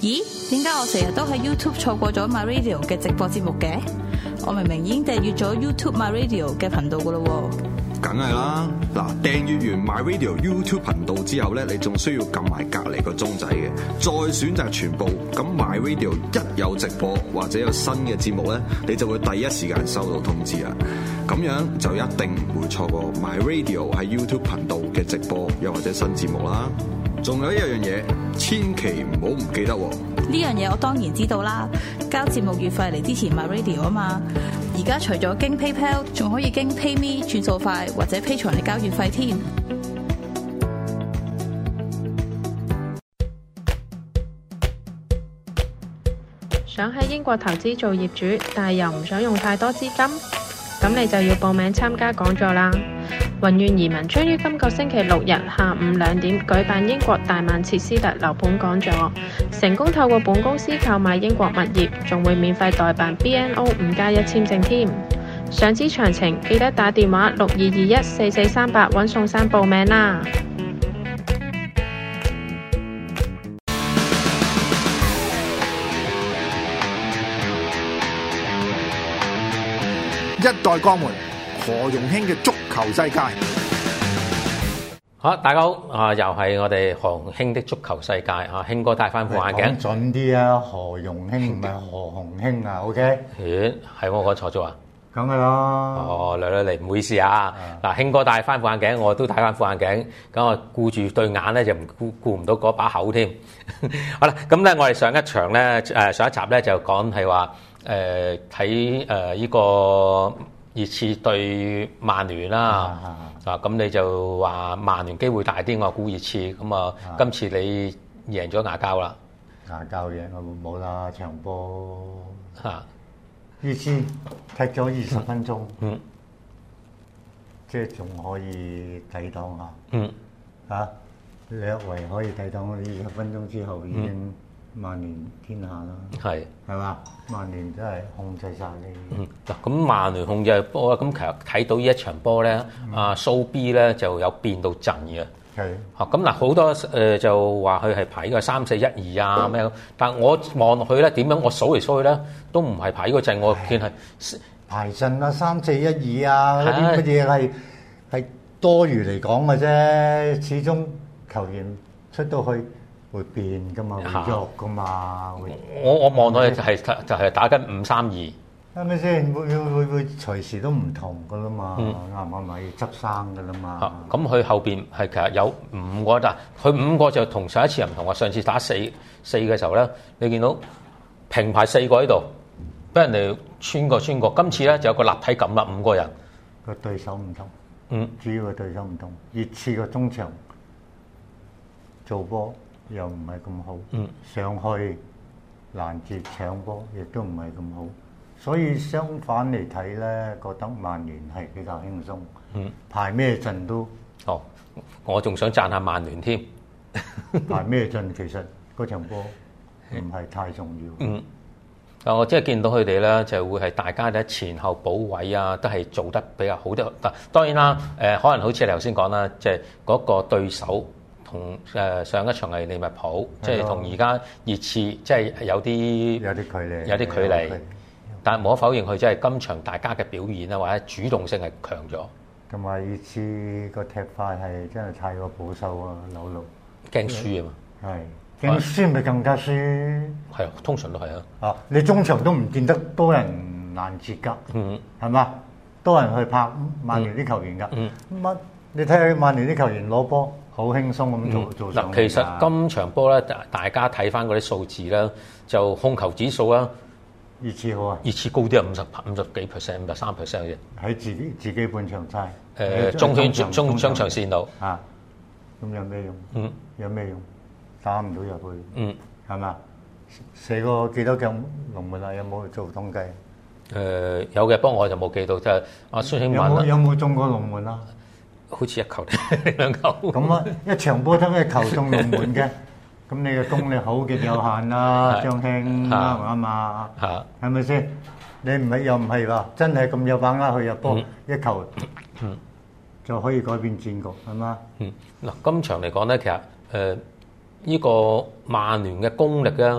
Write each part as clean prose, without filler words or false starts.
咦？點解我成日都喺 YouTube 錯過咗 MyRadio 嘅直播節目嘅？我明明已經訂閱咗 YouTube MyRadio 嘅頻道噶咯喎。 梗係啦，嗱，訂閱完 MyRadio YouTube 頻道之後咧，你仲需要撳埋隔離個鐘仔嘅，再選擇全部。咁 MyRadio 一有直播或者有新嘅節目咧，你就會第一時間收到通知啦。咁樣就一定唔會錯過 MyRadio 喺 YouTube 頻道嘅直播又或者新節目啦。仲有一樣嘢，千祈唔好唔記得喎。 呢樣嘢我當然知道啦，交節目月費嚟支持 MyRadio 啊嘛。而家除咗經 PayPal， 仲可以經 PayMe 轉數快或者 Patreon 嚟交月費添。 想喺英國投資做業主，但係又唔想用太多資金，咁你就要報名參加講座啦。宏願移民將於今個星期六日下午2點舉辦英國大曼徹斯特樓盤講座，成功透過本公司購買英國物業，仲會免費代辦 BNO 5+1簽證添。想知詳情，記得打電話62214438揾宋生報名啦。 一代鋼門何容興嘅足球世界。 好，大家好，又係我哋何容興的足球世界啊！興哥戴翻副眼鏡， 講準啲啊！何容興唔係何鴻興啊 ，OK？ 咦，係我講錯咗啊？ 梗係啦。 哦，嚟，唔好意思啊！嗱，興哥戴翻副眼鏡，我都戴翻副眼鏡，咁我顧住對眼咧，就顧唔到嗰把口添。好啦，咁咧我哋上一場咧，上一集咧就講係話睇呢個熱刺對曼聯啦。咁你就話曼聯機會大啲，我估熱刺。咁啊，今次你贏咗牙膠啦。 牙膠贏我冇啦，場波熱刺踢咗20分鐘，即係仲可以抵擋下。略為可以抵擋20分鐘之後已經曼聯天下啦。係嘛？曼聯真係控制晒你。 嗱，咁曼聯控制波，咁其實睇到呢一場波咧，阿蘇 B 咧就有變到陣嘅。 係。 咁嗱，好多就話佢係排呢個3-4-1-2啊咩，但係我望落去咧，點樣我數嚟數去咧，都唔係排呢個陣，我見係排陣啊3-4-1-2啊嗰啲乜嘢係多餘嚟講嘅啫，始終球員出到去會變噶嘛，會喐噶嘛。 我望到就係打緊5-3-2，係咪先？會隨時都唔同噶啦嘛，啱唔啱咪執生噶啦嘛。 咁佢後邊係其實有5個，但佢5個就同上一次又唔同。話上次打4嘅時候咧，你見到平排4個喺度，俾人哋穿過。今次咧就有個立體感啦，5個人個對手唔同，主要嘅對手唔同。熱刺個中場做波又唔係咁好，上去攔截搶波亦都唔係咁好，所以相反嚟睇咧，覺得曼聯係比較輕鬆。排咩陣都我仲想讚下曼聯添。 排咩陣其實嗰場波唔係太重要。 我即係見到佢哋咧，就會係大家咧前後補位啊，都係做得比較好啲。當然啦，可能好似你頭先講啦，即係嗰個對手。同上一場係利物浦，即係同而家熱刺，即係有啲距離。但係無可否認，佢即係今場大家嘅表現啊，或者主動性係強咗。 同埋熱刺個踢法係真係太過保守啊，扭路驚輸啊嘛。 係驚輸咪更加輸。 係啊，通常都係啊。 你中場都唔見得多人攔截㗎，係嘛？多人去拍曼聯啲球員㗎。乜你睇下曼聯啲球員攞波。好輕鬆咁做上嚟。 其實今場波咧，大家睇翻嗰啲數字啦，就控球指數啦， 熱刺好啊， 熱刺高啲啊，50幾%、53%嘅。 喺自己半場差。 中場線度。 咁有咩用？有咩用？打唔到入去。係嘛？射過幾多腳龍門啊？有冇做統計？ 有嘅，不過我就冇記到，即係阿孫興文有冇中過龍門啊？ 好似1球定2球咁啊！一場波得1球中龍門嘅，咁你嘅功力好極有限啦，張興啱唔啱啊？係咪先？你唔係又唔係話真係咁有把握去入波1球就可以改變戰局係嘛？ 嗱，今場嚟講咧，其實呢個曼聯嘅功力咧，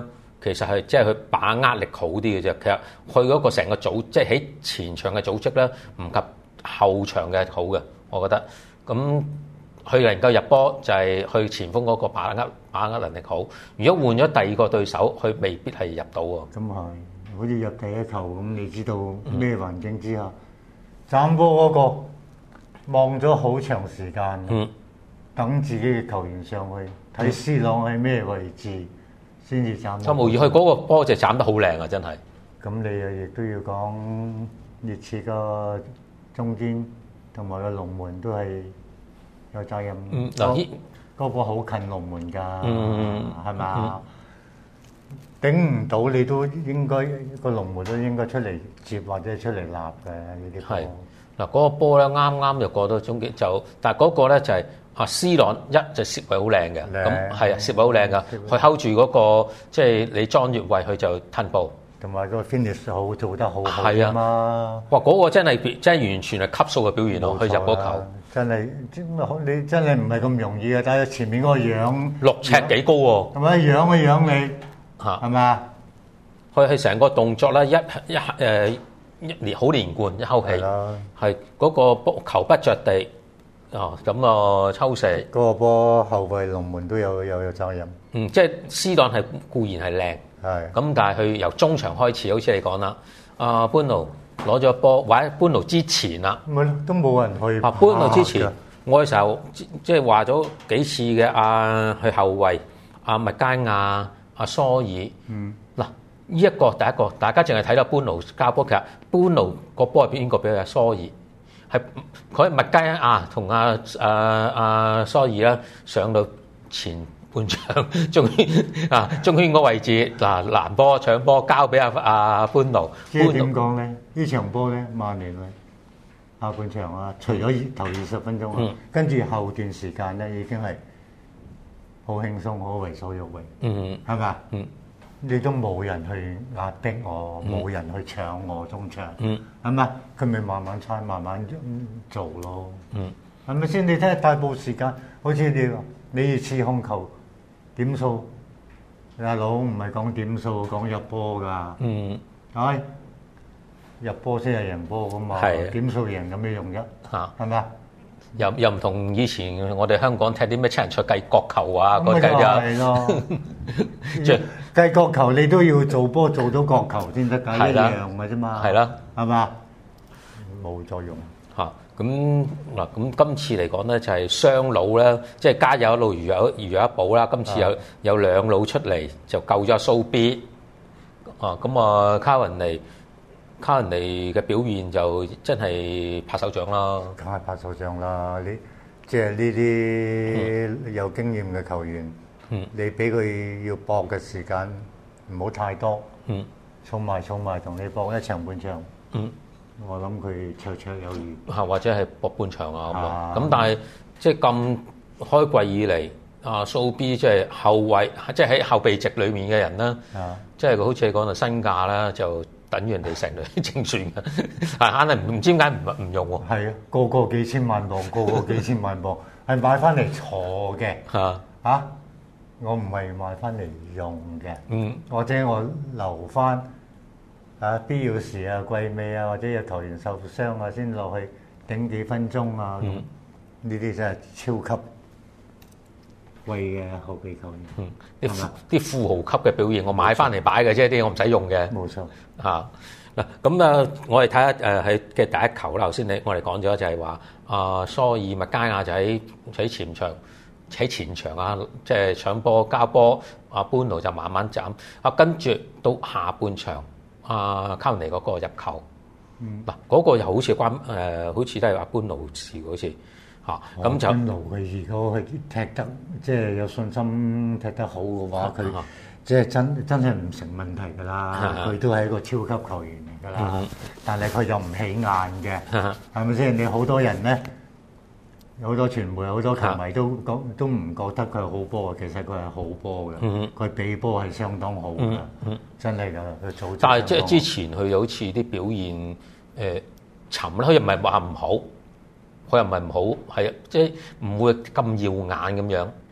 其實係即係佢把握力好啲嘅啫。其實佢嗰個成個組，即係喺前場嘅組織咧，唔及後場嘅好嘅，我覺得。咁佢能夠入波就係佢前鋒嗰個把握能力好。如果換咗第二個對手，佢未必係入到喎。 咁係，好似入第一球咁，你知道咩環境之下，斬波嗰個望咗好長時間，等自己嘅球員上去睇 C 朗喺咩位置先至斬。 差無疑，佢嗰個波就斬得好靚啊！真係。 咁你又亦都要講熱刺個中堅同埋個龍門都係有責任。嗰個好近龍門㗎，係咪？頂唔到你都應該個龍門都應該出嚟接或者出嚟立嘅呢啲波。 嗱，嗰個波咧啱啱就過到終結就，但係嗰個咧就係C 朗一就攝位好靚嘅，咁係啊攝位好靚噶，佢 hold 住嗰個即係你裝越位佢就褪步， 同埋個 finish 好做得好好啊嘛！ 哇，嗰個真係完全係級數嘅表現咯，佢入嗰球真係你真係唔係咁容易嘅，睇下前面嗰個樣 6尺幾高喎， 係咪樣嘅樣你係嘛？ 佢係成個動作咧好連貫一口氣，係嗰個波球不着地，咁抽射。 嗰個波後衞龍門都有責任。 即係C朗係固然係靚，咁但係佢由中場開始，好似你講啦，班奴攞咗波，或者班奴之前啦， 都冇人去。 班奴之前，我嘅時候即係話咗幾次嘅佢後衞麥佳亞、蘇爾，嗱。呢一個第一個，大家淨係睇到班奴交波，其實班奴個波係邊個俾佢？蘇爾係佢麥佳亞同蘇爾啦，上到前半場中圈個位置攔波搶波交俾班奴。 即係點講咧？呢場波咧，曼聯下半場除咗頭20分鐘跟住後段時間咧已經係好輕鬆，好為所欲為，係嘛？你都冇人去壓迫我，冇人去搶我中場，係咪？佢咪慢慢猜，慢慢做咯，係咪先？你睇下大部分時間，好似你熱刺控球點數，大佬唔係講點數，講入波㗎，係入波先係贏波㗎嘛，點數贏有咩用啫？係咪？ 又唔同以前我哋香港踢啲咩七人賽計角球啊，嗰啲係咯，計角球你都要做波做到角球先得㗎，一樣嘅啫嘛，係啦，係嘛？冇作用嚇。咁嗱，咁今次嚟講咧就係雙老咧，即係家有一老如有一寶啦。今次有兩老出嚟就救咗蘇 B，咁卡雲尼嘅表現就真係拍手掌啦， 梗係拍手掌啦！你即係呢啲有經驗嘅球員，你俾佢要搏嘅時間唔好太多，儲埋同你搏一場半場，我諗佢綽綽有餘， 或者係搏半場啊咁。但係即係咁開季以嚟，蘇 B 即係後衞，即係喺後備席裡面嘅人啦，即係佢好似講到身價啦就。等於人哋成隊正選嘅，硬係唔知點解唔用喎。 係啊，個幾千萬磅，個幾千萬磅，係買翻嚟坐嘅。我唔係買翻嚟用嘅。或者我留翻必要時季尾或者有球員受傷先落去頂幾分鐘呢啲真係超級貴嘅後備球員， 啲富豪級嘅表現，我買翻嚟擺嘅啫，啲我唔使用嘅。 冇錯嗱，咁我哋睇下喺嘅第一球啦。頭先我哋講咗就係話蘇爾麥佳亞就喺前場即係搶波交波，班奴就慢慢斬。跟住到下半場，卡文尼嗰個入球，嗰個又好似好似都係班奴事好似。咁就班奴佢如果佢踢得即係有信心踢得好嘅話，佢即係真係唔成問題㗎啦。佢都係一個超級球員嚟㗎啦。但係佢又唔起眼嘅，係咪先？你好多人咧，好多傳媒、好多球迷都唔覺得佢係好波嘅，其實佢係好波嘅。佢比波係相當好嘅，真係㗎。佢組織。 但係即係之前佢好似啲表現沉啦，佢又唔係話唔好。佢又唔係唔好，係即係唔會咁耀眼咁樣。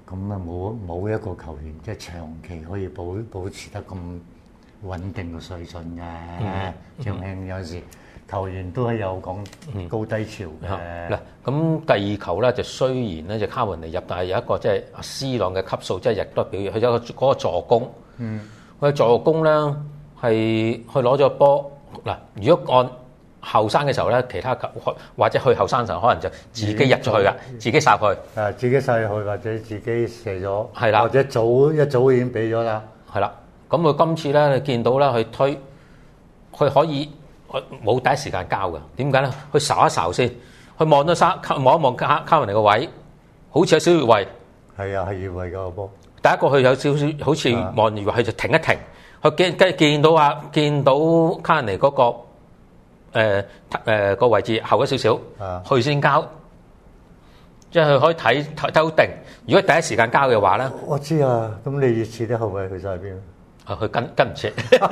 咁啊冇一個球員即係長期可以保持得咁穩定嘅水準嘅。張興有時球員都係有講高低潮嘅。 嗱，咁第二球咧就雖然咧就卡雲尼入，但係有一個即係阿 C 朗嘅級數，即係亦都表現佢有嗰個助攻。佢助攻咧係佢攞咗波嗱，如果按後生嘅時候咧，其他球或者去後生嘅時候，可能就自己入咗去㗎，自己殺佢。 自己殺去或者自己射咗， 係啦， 或者一早已經俾咗啦。 係啦，咁佢今次咧，你見到咧，佢推，佢可以冇第一時間交㗎。點解咧？佢睄一睄先，佢望咗望一望卡雲尼個位，好似有少少越位。 係啊，係越位個波。 第一個佢有少少好似望越位，佢就停一停。佢見到卡雲尼嗰個。個位置後咗少少，佢先交，即係佢可以睇得好定。如果第一時間交嘅話咧， 我知啊。咁你熱刺啲後衞去晒邊啊？ 佢跟唔切，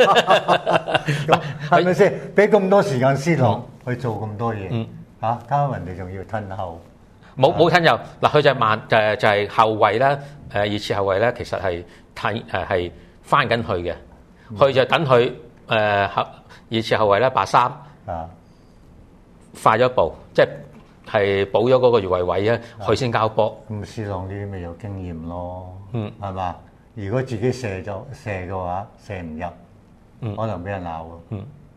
係咪先？俾咁多時間C朗去做咁多嘢，加人哋仲要褪後， 冇褪後。嗱，佢就係慢，就係後衞咧。熱刺後衞咧，其實係係翻緊去嘅，佢就等佢熱刺後衞咧把三。快咗一步，即係補咗嗰個越位位咧，佢先交波。 咁C朗呢啲咪有經驗咯，係嘛？如果自己射嘅話，射唔入，可能俾人鬧喎。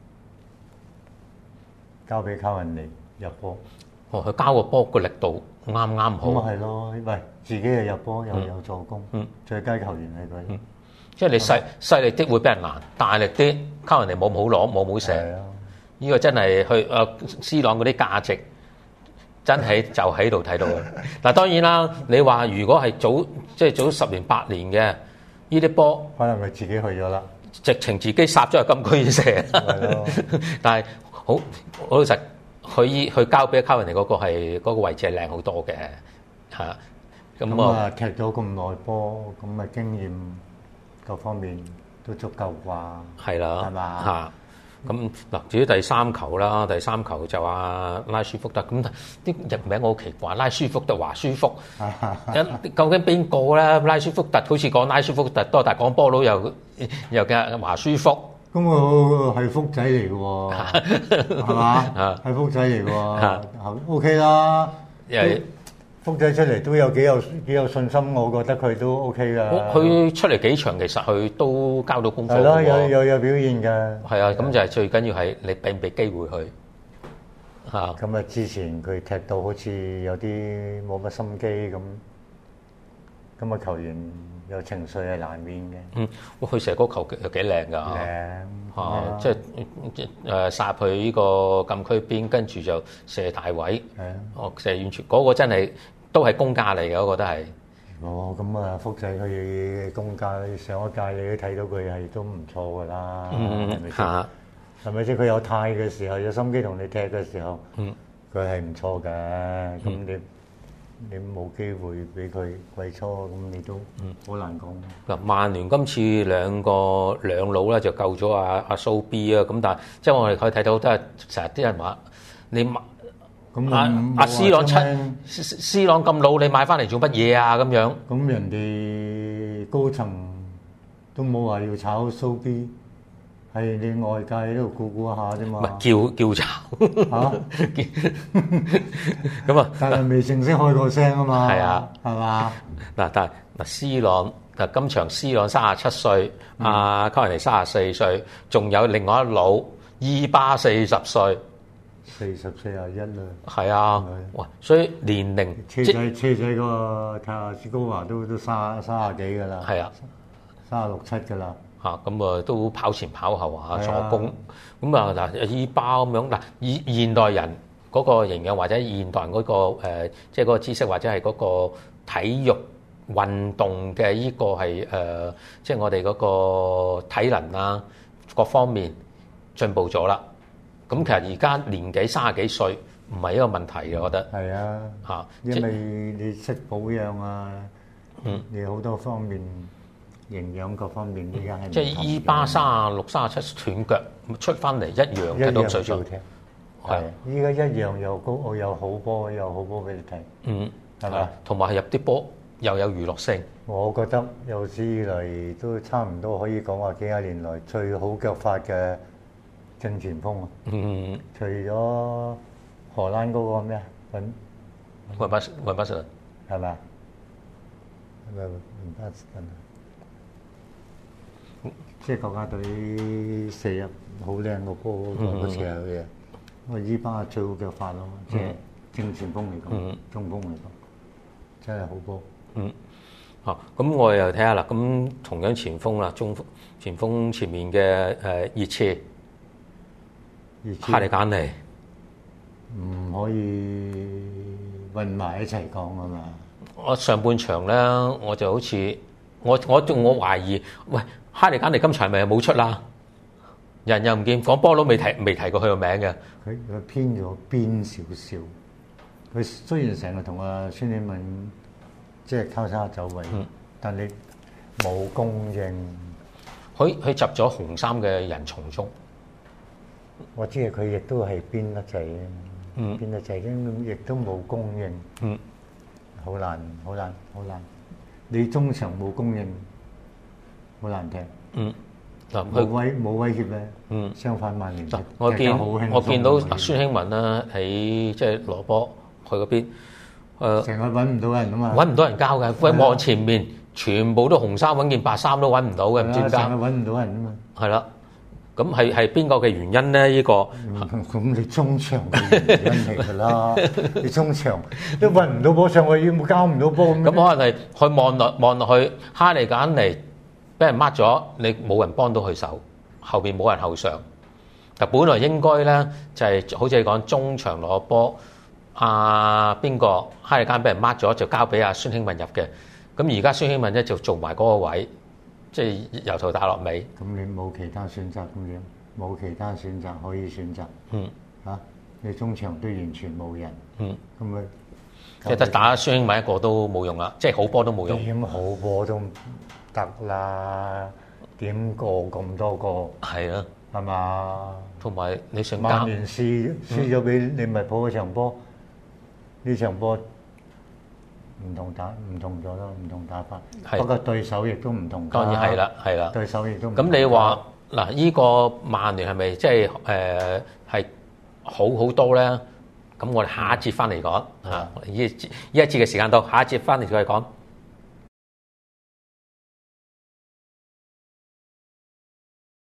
交俾卡雲尼入波。 佢交個波個力度啱啱好。 咁咪係咯，喂，自己又入波又有助攻，最佳球員係佢。 即係你細力啲會俾人難，大力啲卡雲尼冇好攞，冇射。呢個真係去C朗嗰啲價值，真係就喺度睇到嘅。嗱，當然啦，你話如果係早10年8年嘅呢啲波， 可能佢自己去咗啦， 直情自己殺咗入禁區射。但係好老實，佢交俾卡雲尼嗰個係嗰個位置係靚好多嘅嚇。 咁啊，踢咗咁耐波，咁啊經驗各方面都足夠啩？ 係啦， 係嘛嚇。咁嗱，至於第三球啦，第三球就話拉舒福特，咁啲譯名我好奇怪，拉舒福特華舒福，究竟邊個咧？拉舒福特好似講拉舒福特多，但係講波佬又叫華舒福， 咁我係福仔嚟嘅喎，係嘛？係福仔嚟嘅喎，OK 啦。福仔出嚟都有幾有信心，我覺得佢都 OK 噶。 佢出嚟幾場，其實佢都交到功課。 係咯，有表現㗎。 係啊，咁就係最緊要係你俾唔俾機會佢嚇。 咁啊，之前佢踢到好似有啲冇乜心機咁啊，球員有情緒係難免嘅。 佢射嗰球又幾靚㗎。靚嚇，即係殺去呢個禁區邊，跟住就射大位。射遠處嗰個真係。都係公價嚟嘅，我覺得係。 咁啊，福仔佢公價，上一屆你都睇到佢係都唔錯㗎啦，係咪先？係咪先？佢有態嘅時候，有心機同你踢嘅時候，佢係唔錯嘅。咁你冇機會俾佢季初，咁你都好難講。 嗱，曼聯今次兩老咧就救咗阿蘇 B 啊，咁但係即係我哋可以睇到都係成日啲人話你。阿 C 朗C 朗咁老，你買翻嚟做乜嘢啊？咁樣咁人哋高層都冇話要炒蘇 B，係你外界喺度估下啫嘛。 唔係叫炒咁啊！ 但係未正式開過聲啊嘛。 係啊， 係嘛？ 嗱，但係C 朗嗱，今場 C 朗37歲，阿卡雲尼34歲，仲有另外一老伊巴40歲。 40、41啦， 係啊，哇！所以年齡車仔個泰亞斯高華都30幾㗎啦， 係啊 ，36、7㗎啦， 咁啊都跑前跑後助攻，咁啊嗱伊巴咁樣嗱，現代人嗰個營養或者現代人嗰個即係嗰個知識或者係嗰個體育運動嘅呢個係即係我哋嗰個體能啊各方面進步咗啦。咁其實而家年紀30幾歲唔係一個問題嘅，我覺得。係啊，因為你識保養啊，你好多方面營養各方面依家係。 即係伊巴36、37斷腳出翻嚟一樣睇到水準。 係，依家一樣又高又好波俾你睇。係嘛？ 同埋係入啲波又有娛樂性。 我覺得有史以嚟都差唔多可以講話幾廿年來最好腳法嘅正前鋒啊！除咗荷蘭嗰個咩啊？ 雲巴士頓係咪啊？雲巴士頓即係國家隊射入好靚個波嗰時候嘅，我依班係最好腳法咯，即係正前鋒嚟講，中鋒嚟講，真係好波。 咁我又睇下啦。咁同樣前鋒啦，前鋒前面嘅熱刺哈利簡尼唔可以混埋一齊講啊嘛！ 我上半場咧，我就好似我懷疑，喂，哈利簡尼今場係咪冇出啦？人又唔見，講波都未提過佢個名嘅。 佢偏咗邊少少。佢雖然成日同阿孫興慜即係交叉走位，但你冇供應。 佢集咗紅衫嘅人從中。 我知係佢亦都係邊得滯嘅，邊得滯嘅，亦都冇供應。好難。你中場冇供應，好難踢。冇威脅咧。相反曼聯我見到孫興慜啦，喺即係羅波佢嗰邊， 成日揾唔到人啊嘛， 揾唔到人交嘅。佢望前面全部都紅衫，揾件白衫都揾唔到嘅，唔知點解。 成日揾唔到人啊嘛。 係啦，咁係邊個嘅原因咧？呢個咁你中場嘅原因嚟㗎啦，你中場都揾唔到波上去，要交唔到波咁。 咁可能係佢望落去，哈利簡尼俾人抹咗，你冇人幫到佢手，後邊冇人後上。但本來應該咧就係好似你講中場攞波，邊個哈利簡尼俾人抹咗，就交俾阿孫興慜入嘅。咁而家孫興慜咧就做埋嗰個位，即係由頭打落尾。 咁你冇其他選擇咁樣，冇其他選擇可以選擇。你中場都完全冇人。咁咪即係得打孫興慜一個都冇用啦，即係好波都冇用。 點好波都唔得啦，點過咁多個？係啊，係嘛？ 同埋你想曼聯輸咗俾你咪抱嗰場波，呢場波唔同咗咯，唔同打法。不過對手亦都唔同。 當然係啦， 對手亦都唔同。 咁你話嗱，依個曼聯係咪即係係好多咧？咁我哋下一節翻嚟講嚇，依一節嘅時間到，下一節翻嚟再講。